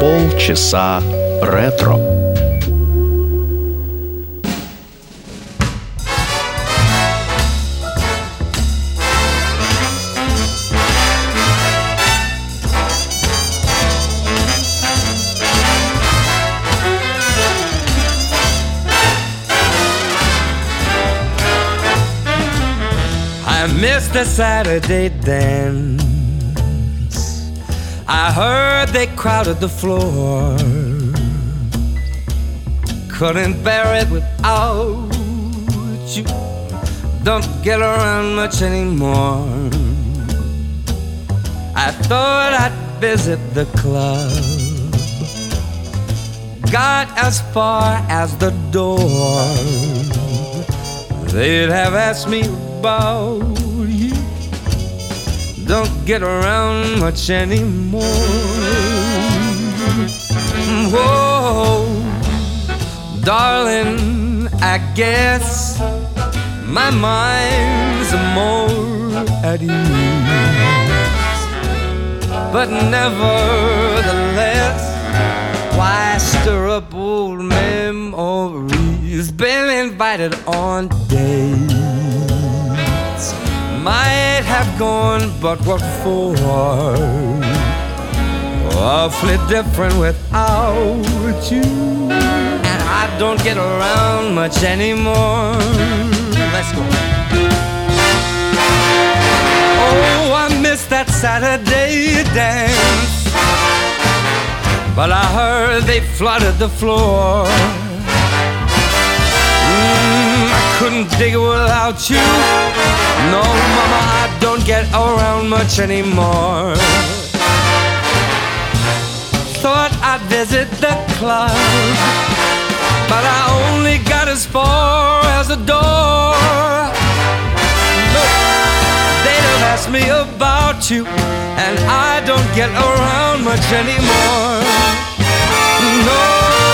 Полчаса ретро. I missed the Saturday dance. I heard they crowded the floor. Couldn't bear it without you. Don't get around much anymore. I thought I'd visit the club. Got as far as the door. They'd have asked me about you. Don't get around much anymore. Whoa, darling, I guess my mind's more at ease. But nevertheless, why stir up old memories? Been invited on dates. Might have gone, but what for? Awfully different without you. And I don't get around much anymore. Let's go. Oh, I missed that Saturday dance. But I heard they flooded the floor. I couldn't dig it without you. No, mama, I don't get around much anymore. Thought I'd visit the club, but I only got as far as the door. Look, they'd have asked me about you, and I don't get around much anymore. No,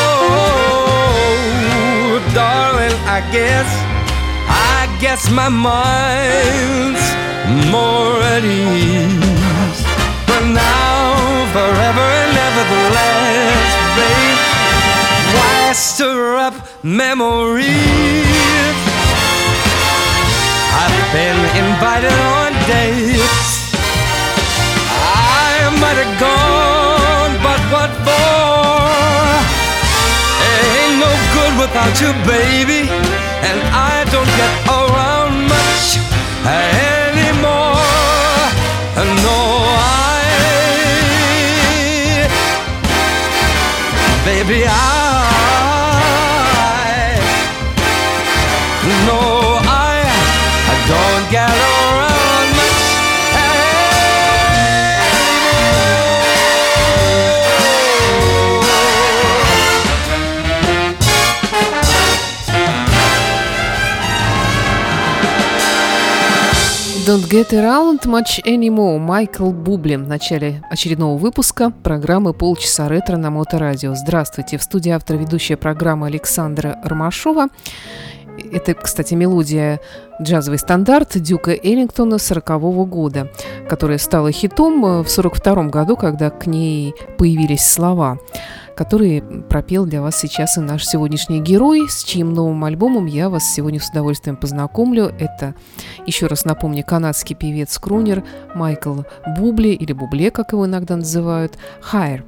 darling, I guess my mind's more at ease. But now, forever and nevertheless, babe, why stir up memories? I've been invited on dates. I might have gone, but what for? Ain't no good without you, baby. And I don't get around much anymore. No, baby, I don't get around much Don't Get Around Much Anymore. Майкл Бубли в начале очередного выпуска программы «Полчаса ретро» на Моторадио. Здравствуйте! В студии автор ведущая программы Александра Ромашова. Это, кстати, мелодия джазовый стандарт Дюка Эллингтона 40-го года, которая стала хитом в 42-м году, когда к ней появились слова, которые пропел для вас сейчас и наш сегодняшний герой, с чьим новым альбомом я вас сегодня с удовольствием познакомлю. Это, еще раз напомню, канадский певец-крунер Майкл Бубли, или Бубле, как его иногда называют, «Higher».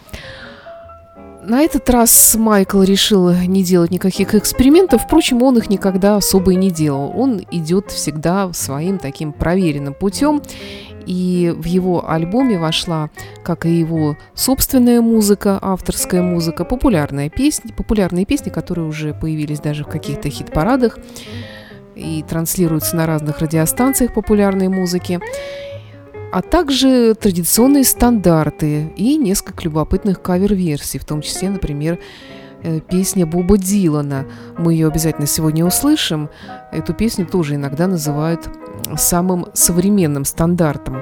На этот раз Майкл решил не делать никаких экспериментов, впрочем, он их никогда особо и не делал. Он идет всегда своим таким проверенным путем, и в его альбоме вошла, как и его собственная музыка, авторская музыка, популярные песни, которые уже появились даже в каких-то хит-парадах и транслируются на разных радиостанциях популярной музыки, а также традиционные стандарты и несколько любопытных кавер-версий, в том числе, например, песня Боба Дилана. Мы ее обязательно сегодня услышим. Эту песню тоже иногда называют самым современным стандартом.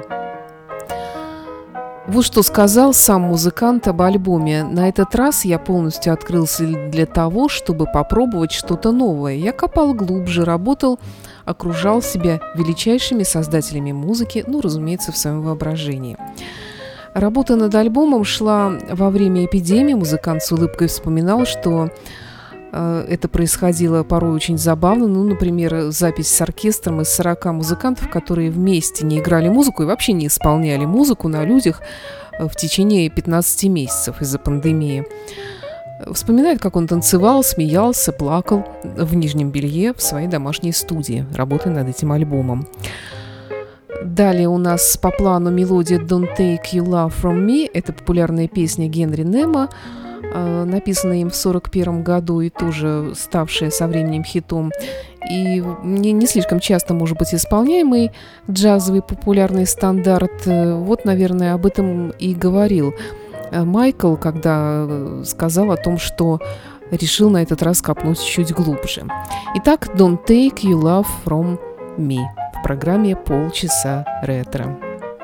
Вот что сказал сам музыкант об альбоме. На этот раз я полностью открылся для того, чтобы попробовать что-то новое. Я копал глубже, работал, окружал себя величайшими создателями музыки, разумеется, в своем воображении. Работа над альбомом шла во время эпидемии. Музыкант с улыбкой вспоминал, что это происходило порой очень забавно. Ну, например, запись с оркестром из 40 музыкантов, которые вместе не играли музыку и вообще не исполняли музыку на людях в течение 15 месяцев из-за пандемии. Вспоминает, как он танцевал, смеялся, плакал в нижнем белье в своей домашней студии, работая над этим альбомом. Далее у нас по плану мелодия «Don't Take Your Love From Me». Это популярная песня Генри Нема, написанная им в 1941 году и тоже ставшая со временем хитом. И не слишком часто, может быть, исполняемый джазовый популярный стандарт. Вот, наверное, об этом и говорил Майкл, когда сказал о том, что решил на этот раз копнуть чуть глубже. Итак, «Don't Take Your Love From Me» в программе «Полчаса ретро».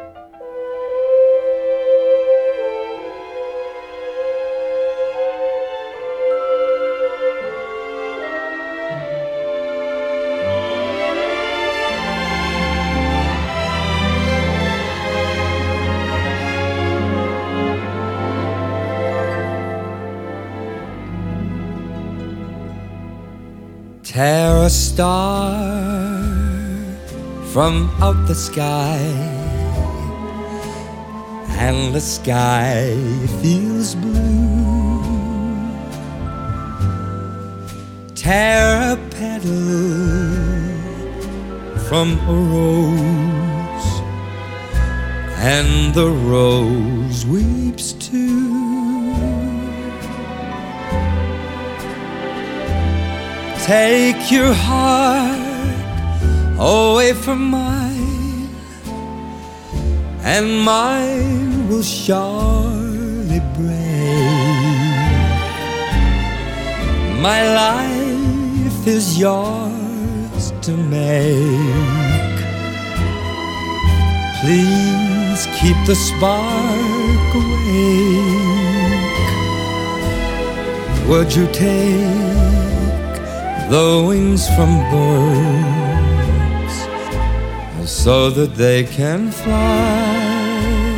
Tear a star from out the sky, and the sky feels blue. Tear a petal from a rose, and the rose weeps too. Take your heart away from mine, and mine will surely break. My life is yours to make. Please keep the spark awake. Would you take the wings from birds so that they can fly?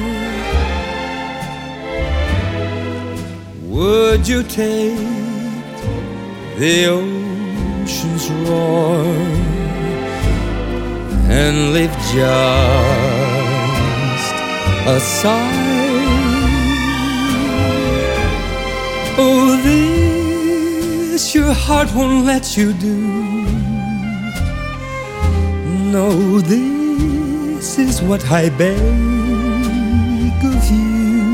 Would you take the ocean's roar and leave just a sigh? Oh, this your heart won't let you do. No, this is what I beg of you.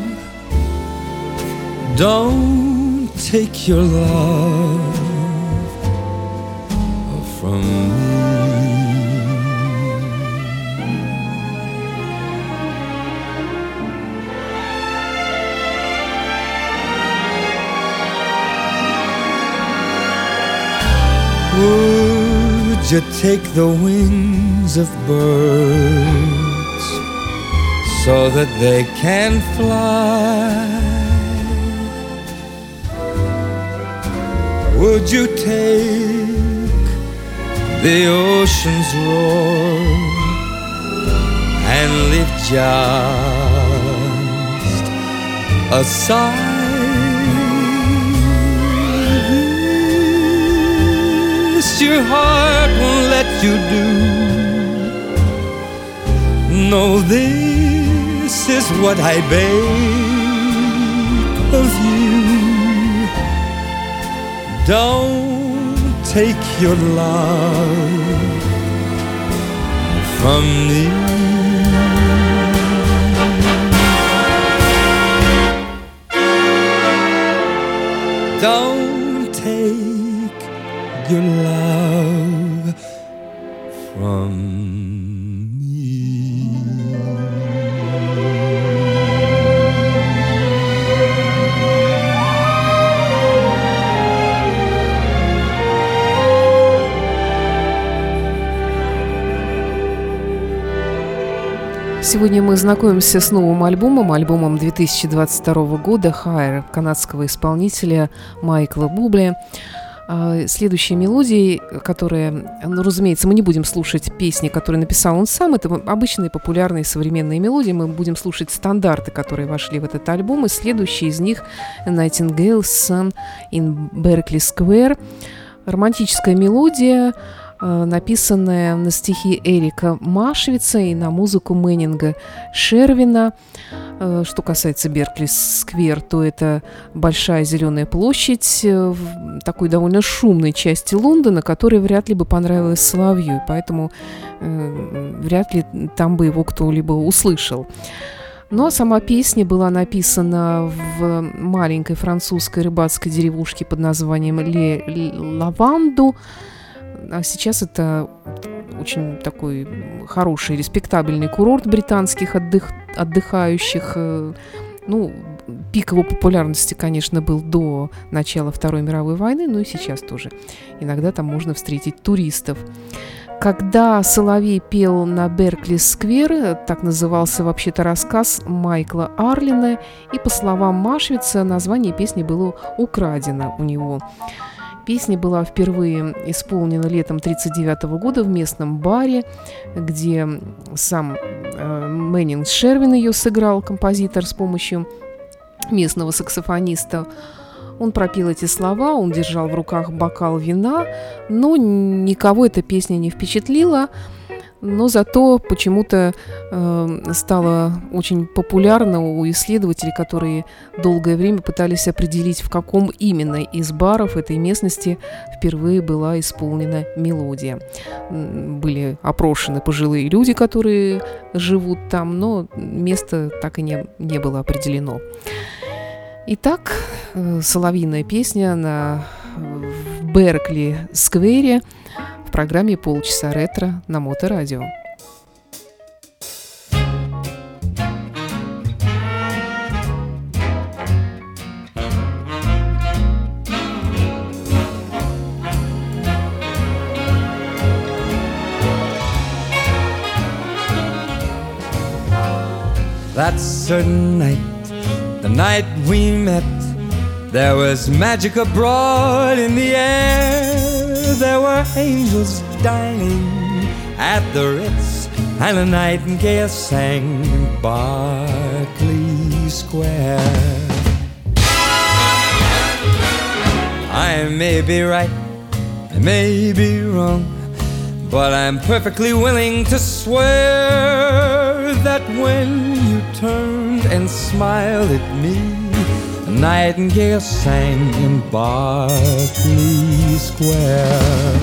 Don't take your love from me. Would you take the wings of birds so that they can fly? Would you take the ocean's roar and leave just a sigh? Your heart won't let you do. No, this is what I beg of you. Don't take your love from me. Don't take your love from me. Сегодня мы знакомимся с новым альбомом 2022 года «Higher» канадского исполнителя Майкла Бубли. Следующие мелодии, которые, разумеется, мы не будем слушать песни, которые написал он сам. Это обычные популярные современные мелодии. Мы будем слушать стандарты, которые вошли в этот альбом. И следующие из них «Nightingale's Song in Berkeley Square». Романтическая мелодия, написанная на стихи Эрика Машвица и на музыку Мэннинга Шервина. Что касается Беркли-сквер, то это большая зеленая площадь в такой довольно шумной части Лондона, которая вряд ли бы понравилась Соловью, и поэтому вряд ли там бы его кто-либо услышал. Ну а сама песня была написана в маленькой французской рыбацкой деревушке под названием Ле-Лаванду. А сейчас это очень такой хороший, респектабельный курорт британских отдыхающих. Ну, пик его популярности, конечно, был до начала Второй мировой войны, но и сейчас тоже. Иногда там можно встретить туристов. Когда Соловей пел на Беркли-сквер, так назывался вообще-то рассказ Майкла Арлина, и, по словам Машвица, название песни было украдено у него. Песня была впервые исполнена летом 1939 года в местном баре, где сам Мэннинг Шервин ее сыграл, композитор, с помощью местного саксофониста. Он пропел эти слова, он держал в руках бокал вина, но никого эта песня не впечатлила. Но зато почему-то стала очень популярна у исследователей, которые долгое время пытались определить, в каком именно из баров этой местности впервые была исполнена мелодия. Были опрошены пожилые люди, которые живут там, но место так и не было определено. Итак, соловьиная песня в Беркли-сквере в программе «Полчаса ретро» на Моторадио. That certain night, the night we met, there was magic abroad in the air. There were angels dining at the Ritz, and a nightingale sang in Berkeley Square. I may be right, I may be wrong, but I'm perfectly willing to swear that when you turned and smiled at me, a nightingale sang in Berkeley Square.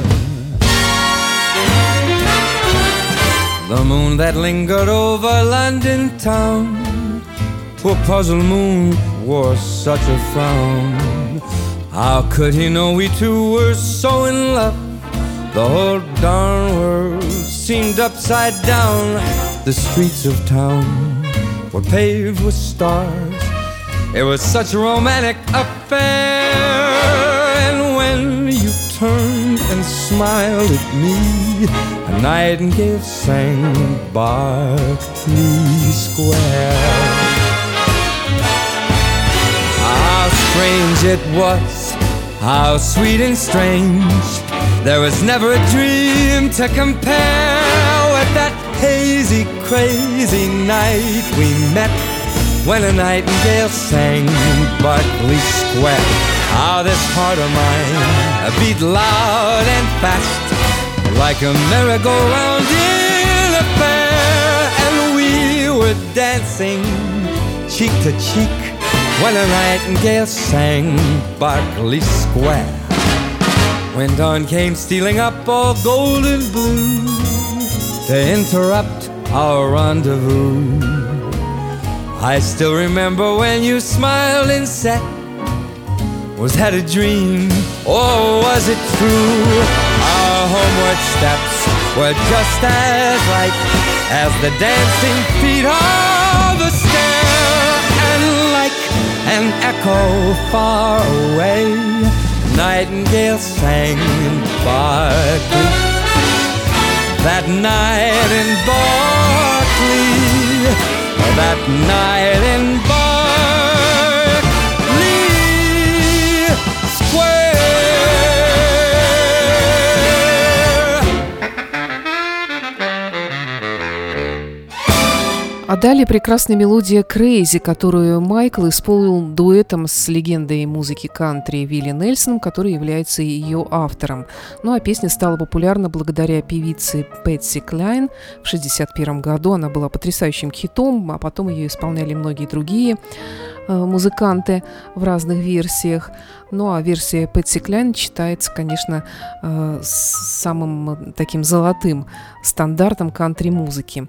The moon that lingered over London town, poor puzzled moon, wore such a frown. How could he know we two were so in love? The whole darn world seemed upside down. The streets of town were paved with stars. It was such a romantic affair. And when you turned and smiled at me, a nightingale sang in Berkeley Square. How strange it was, how sweet and strange. There was never a dream to compare with that hazy, crazy night we met, when a nightingale sang in Berkeley Square. How this heart of mine beat loud and fast, like a merry-go-round in a fair. And we were dancing cheek to cheek, when a nightingale sang Berkeley Square. When dawn came stealing up all golden blue to interrupt our rendezvous, I still remember when you smiled and said, was that a dream or was it true? Our homeward steps were just as light as the dancing feet of a stair. And like an echo far away, nightingale sang in Berkeley. That night in Berkeley, that night in Berkeley Square. Далее прекрасная мелодия «Crazy», которую Майкл исполнил дуэтом с легендой музыки кантри Вилли Нельсоном, который является ее автором. Ну а песня стала популярна благодаря певице Пэтси Клайн. В 1961 году она была потрясающим хитом, а потом ее исполняли многие другие музыканты в разных версиях. Ну а версия Пэтси Клайн считается, конечно, самым таким золотым стандартом кантри-музыки.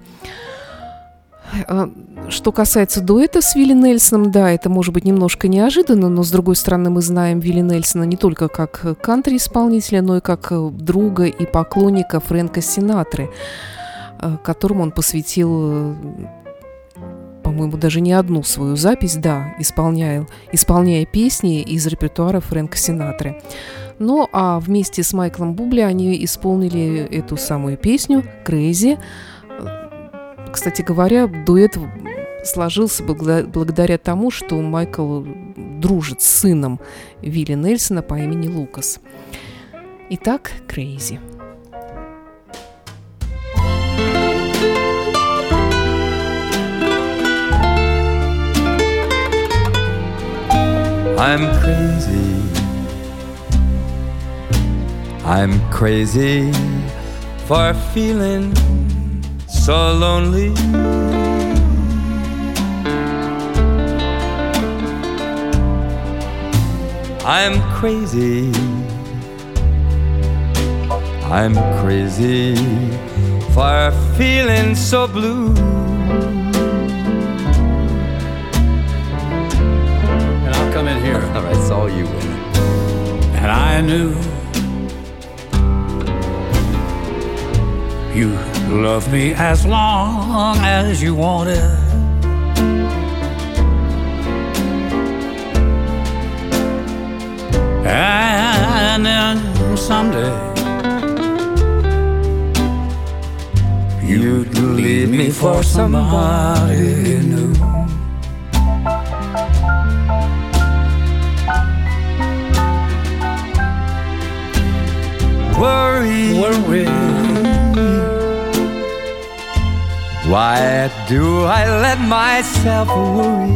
Что касается дуэта с Вилли Нельсоном, да, это может быть немножко неожиданно, но, с другой стороны, мы знаем Вилли Нельсона не только как кантри-исполнителя, но и как друга и поклонника Фрэнка Синатры, которому он посвятил, по-моему, даже не одну свою запись, да, исполняя песни из репертуара Фрэнка Синатры. Ну, а вместе с Майклом Бубли они исполнили эту самую песню «Crazy». Кстати говоря, дуэт сложился благодаря тому, что Майкл дружит с сыном Вилли Нельсона по имени Лукас. Итак, «Crazy». I'm crazy for feeling so lonely. I'm crazy for feeling so blue. And I'll come in here. All right, it's all you, Willie. And I knew you love me as long as you wanted. And then someday you'd leave me for somebody new. Worry. Why do I let myself worry?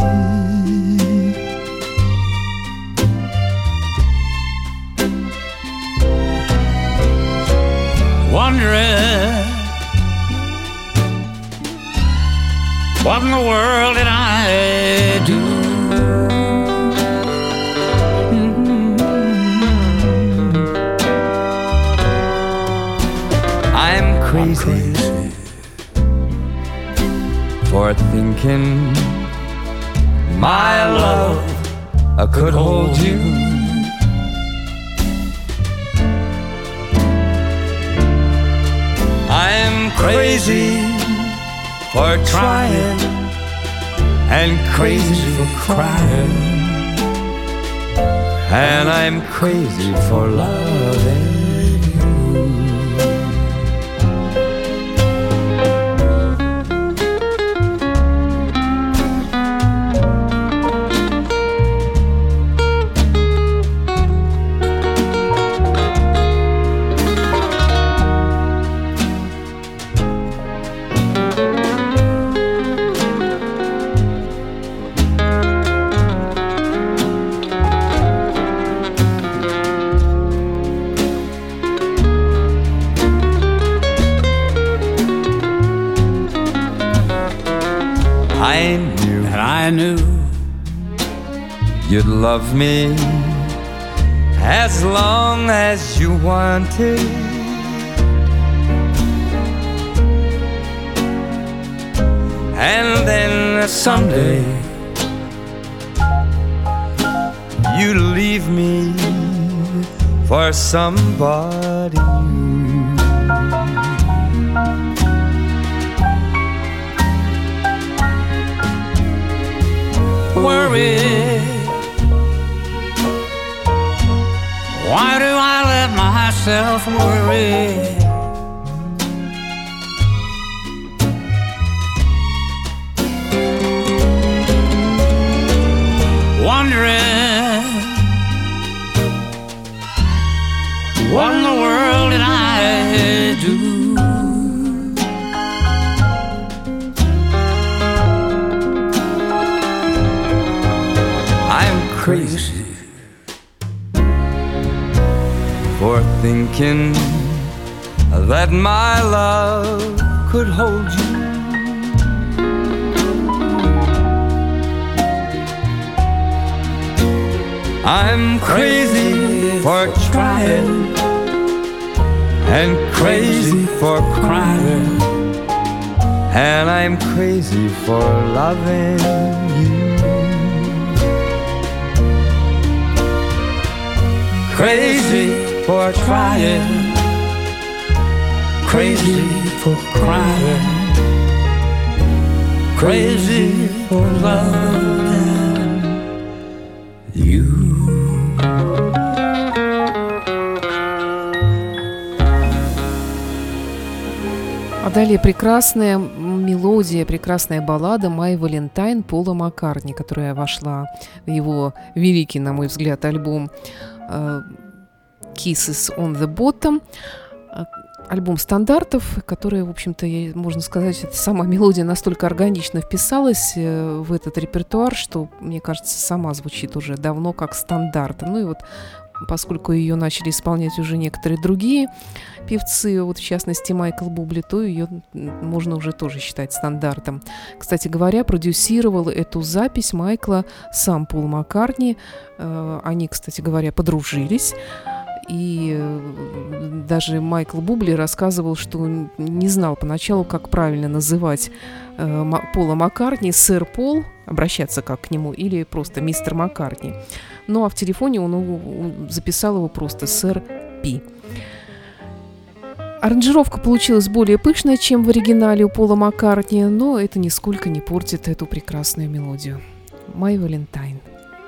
Wondering what in the world did I do? I'm crazy for thinking my love could hold you. I'm crazy for trying and crazy for crying, and I'm crazy for loving. I knew you'd love me as long as you wanted. And then someday you'd leave me for somebody new. Worry. Why do I let myself worry? Wondering what in the world did I do? crazy for thinking that my love could hold you. I'm crazy for trying and crazy for crying, and I'm crazy for loving you. Crazy for trying, crazy for crying, crazy for loving you. А далее прекрасная мелодия, прекрасная баллада «My Valentine» Пола Маккартни, которая вошла в его великий, на мой взгляд, альбом «Kisses on the Bottom». Альбом стандартов, который, в общем-то, можно сказать, сама мелодия настолько органично вписалась в этот репертуар, что, мне кажется, сама звучит уже давно как стандарт. Ну и вот, поскольку ее начали исполнять уже некоторые другие певцы, вот в частности Майкл Бубли, то ее можно уже тоже считать стандартом. Кстати говоря, продюсировал эту запись Майкла сам Пол Маккартни. Они, кстати говоря, подружились. И даже Майкл Бубли рассказывал, что не знал поначалу, как правильно называть Пола Маккартни, сэр Пол, обращаться как к нему, или просто мистер Маккартни. Ну а в телефоне он записал его просто сэр Пи. Аранжировка получилась более пышная, чем в оригинале у Пола Маккартни, но это нисколько не портит эту прекрасную мелодию. «My Valentine».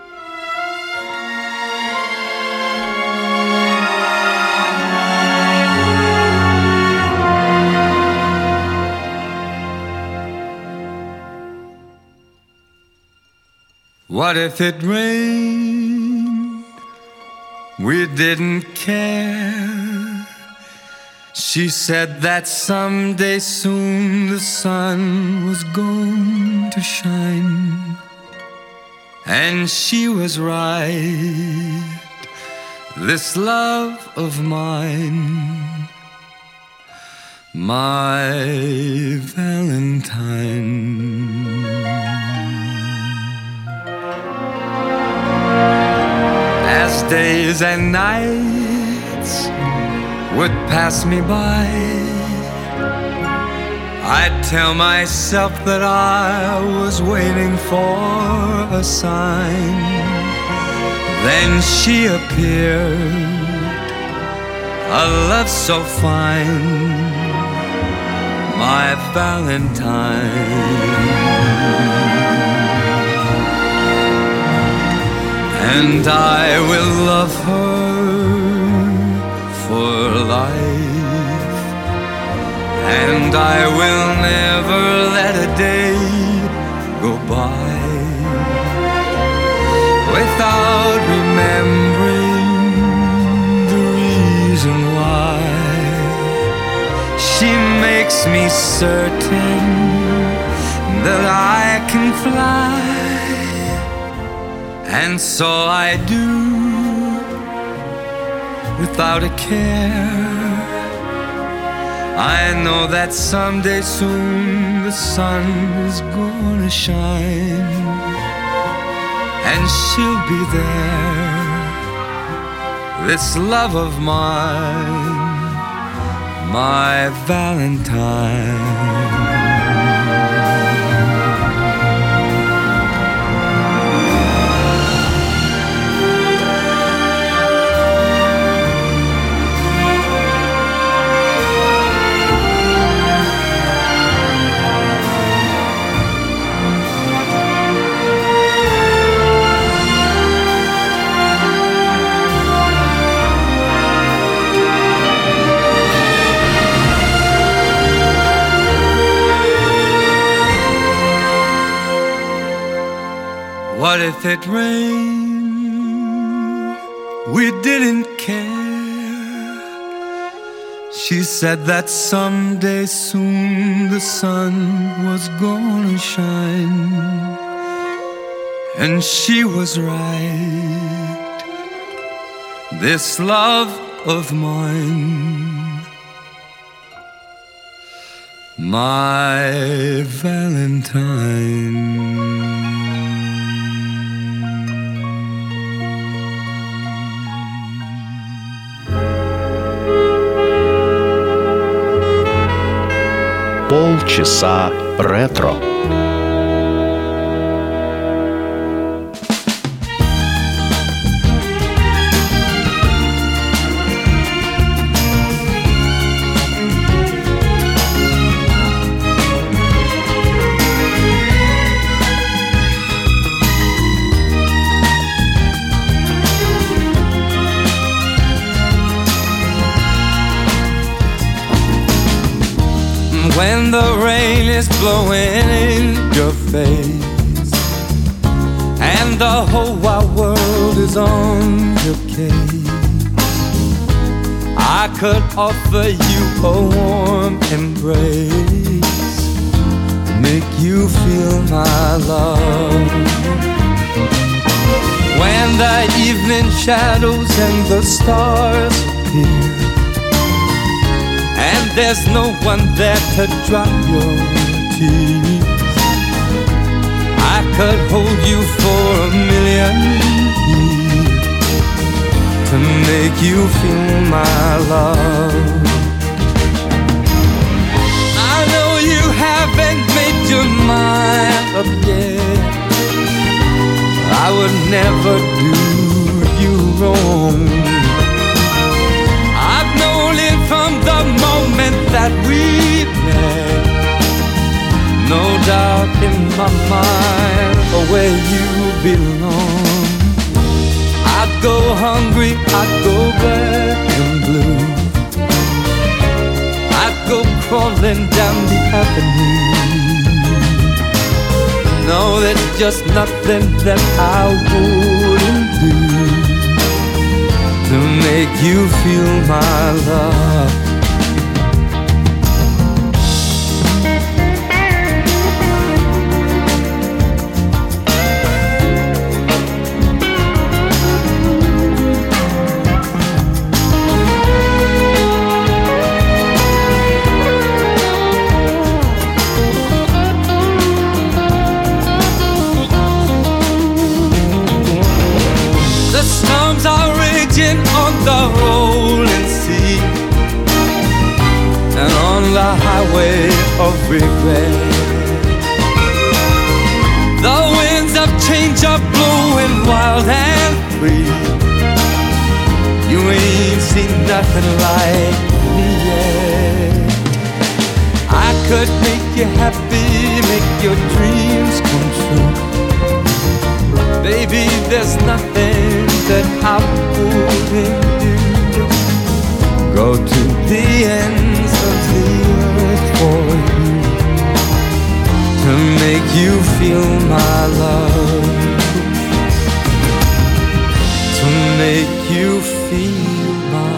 What if it rained? We didn't care. She said that someday soon the sun was going to shine. And she was right. This love of mine, my Valentine. As days and nights would pass me by, I'd tell myself that I was waiting for a sign. Then she appeared, a love so fine, my Valentine. And I will love her for life, and I will never let a day go by without remembering the reason why. She makes me certain that I can fly. And so I do, without a care. I know that someday soon the sun is gonna shine, and she'll be there. This love of mine, my Valentine. What if it rained? We didn't care. She said that someday soon the sun was gonna shine, And she was right. This love of mine, my Valentine. Полчаса ретро. When the rain is blowing in your face and the whole wide world is on your case, I could offer you a warm embrace, make you feel my love. When the evening shadows and the stars appear and there's no one there to dry your tears, I could hold you for a million years to make you feel my love. I know you haven't made your mind up yet. I would never do you wrong. From the moment that we met, no doubt in my mind where you belong. I'd go hungry, I'd go black and blue, I'd go crawling down the avenue. No, there's just nothing that I wouldn't do to make you feel my love. The storms are raging on the rolling sea and on the highway of regret. The winds of change are blowing wild and free. You ain't seen nothing like me yet. I could make you happy, make your dreams come true. Baby, there's nothing that I wouldn't do. Go to the ends of the earth for you to make you feel my love, to make you feel my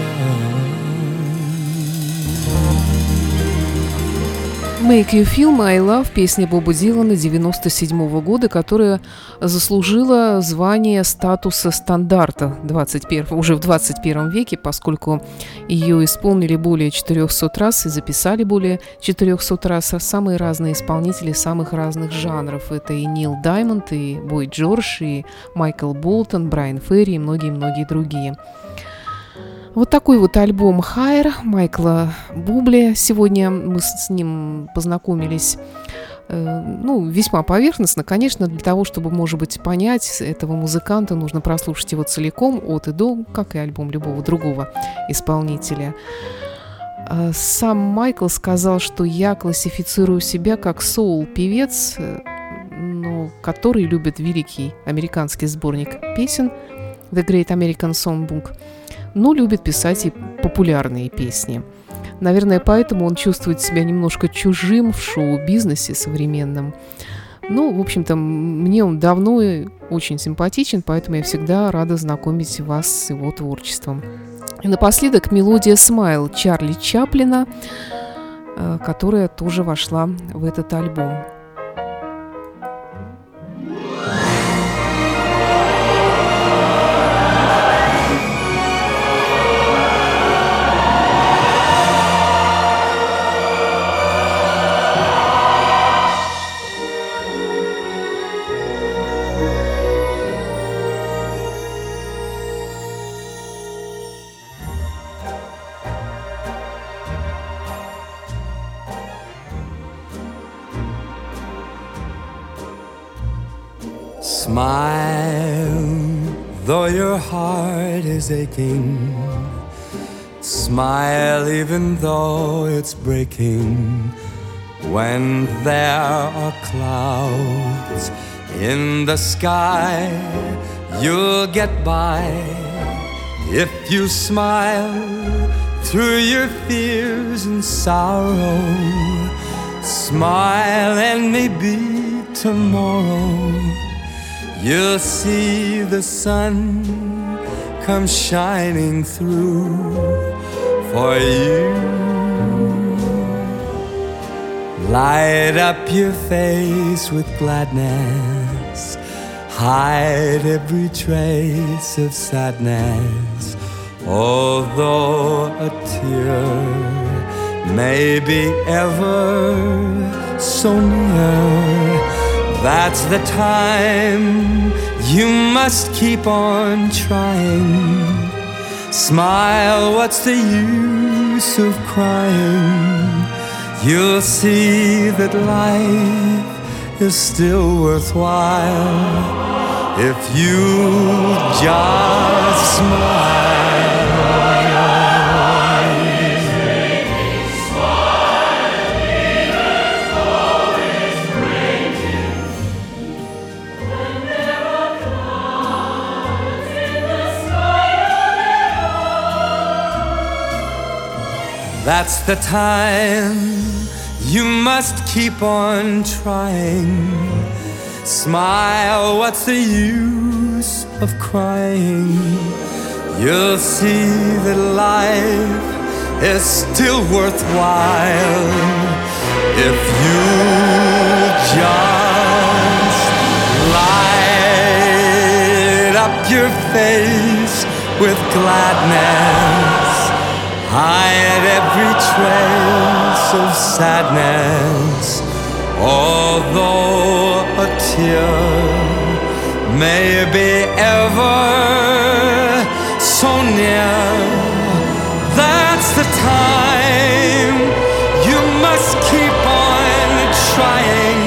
«Make You Feel My Love» – песня Боба Дилана 1997 года, которая заслужила звание статуса стандарта уже в 21 веке, поскольку ее исполнили более 400 раз и записали более 400 раз самые разные исполнители самых разных жанров. Это и Нил Даймонд, и Бой Джордж, и Майкл Болтон, Брайан Ферри и многие-многие другие. Вот такой вот альбом «Higher» Майкла Бубли. Сегодня мы с ним познакомились, весьма поверхностно. Конечно, для того, чтобы, может быть, понять этого музыканта, нужно прослушать его целиком, от и до, как и альбом любого другого исполнителя. Сам Майкл сказал, что я классифицирую себя как соул-певец, который любит великий американский сборник песен «The Great American Songbook», но любит писать и популярные песни. Наверное, поэтому он чувствует себя немножко чужим в шоу-бизнесе современном. В общем-то, мне он давно и очень симпатичен, поэтому я всегда рада знакомить вас с его творчеством. И напоследок мелодия «Smile» Чарли Чаплина, которая тоже вошла в этот альбом. Smile, though your heart is aching. Smile even though it's breaking. When there are clouds in the sky, you'll get by if you smile through your fears and sorrow. Smile and maybe tomorrow you'll see the sun come shining through for you. Light up your face with gladness, hide every trace of sadness. Although a tear may be ever so near, that's the time you must keep on trying. Smile, what's the use of crying? You'll see that life is still worthwhile if you just smile. That's the time you must keep on trying. Smile, what's the use of crying? You'll see that life is still worthwhile if you just light up your face with gladness. Hide every trace of sadness. Although a tear may be ever so near, that's the time you must keep on trying.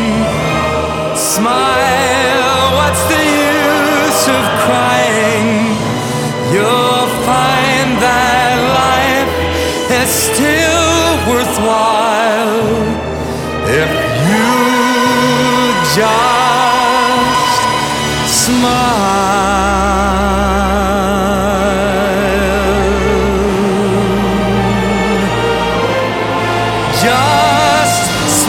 Smile, what's the use of crying? You'll find that life is still worthwhile if you just smile. Just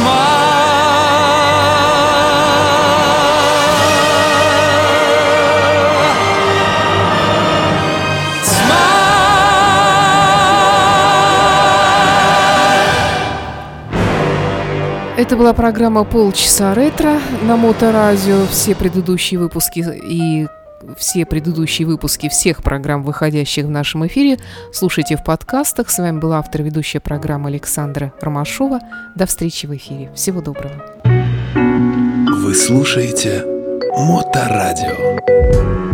Это была программа «Полчаса ретро» на Моторадио. Все предыдущие выпуски всех программ, выходящих в нашем эфире, слушайте в подкастах. С вами была автор ведущая программы Александра Ромашова. До встречи в эфире. Всего доброго. Вы слушаете Моторадио.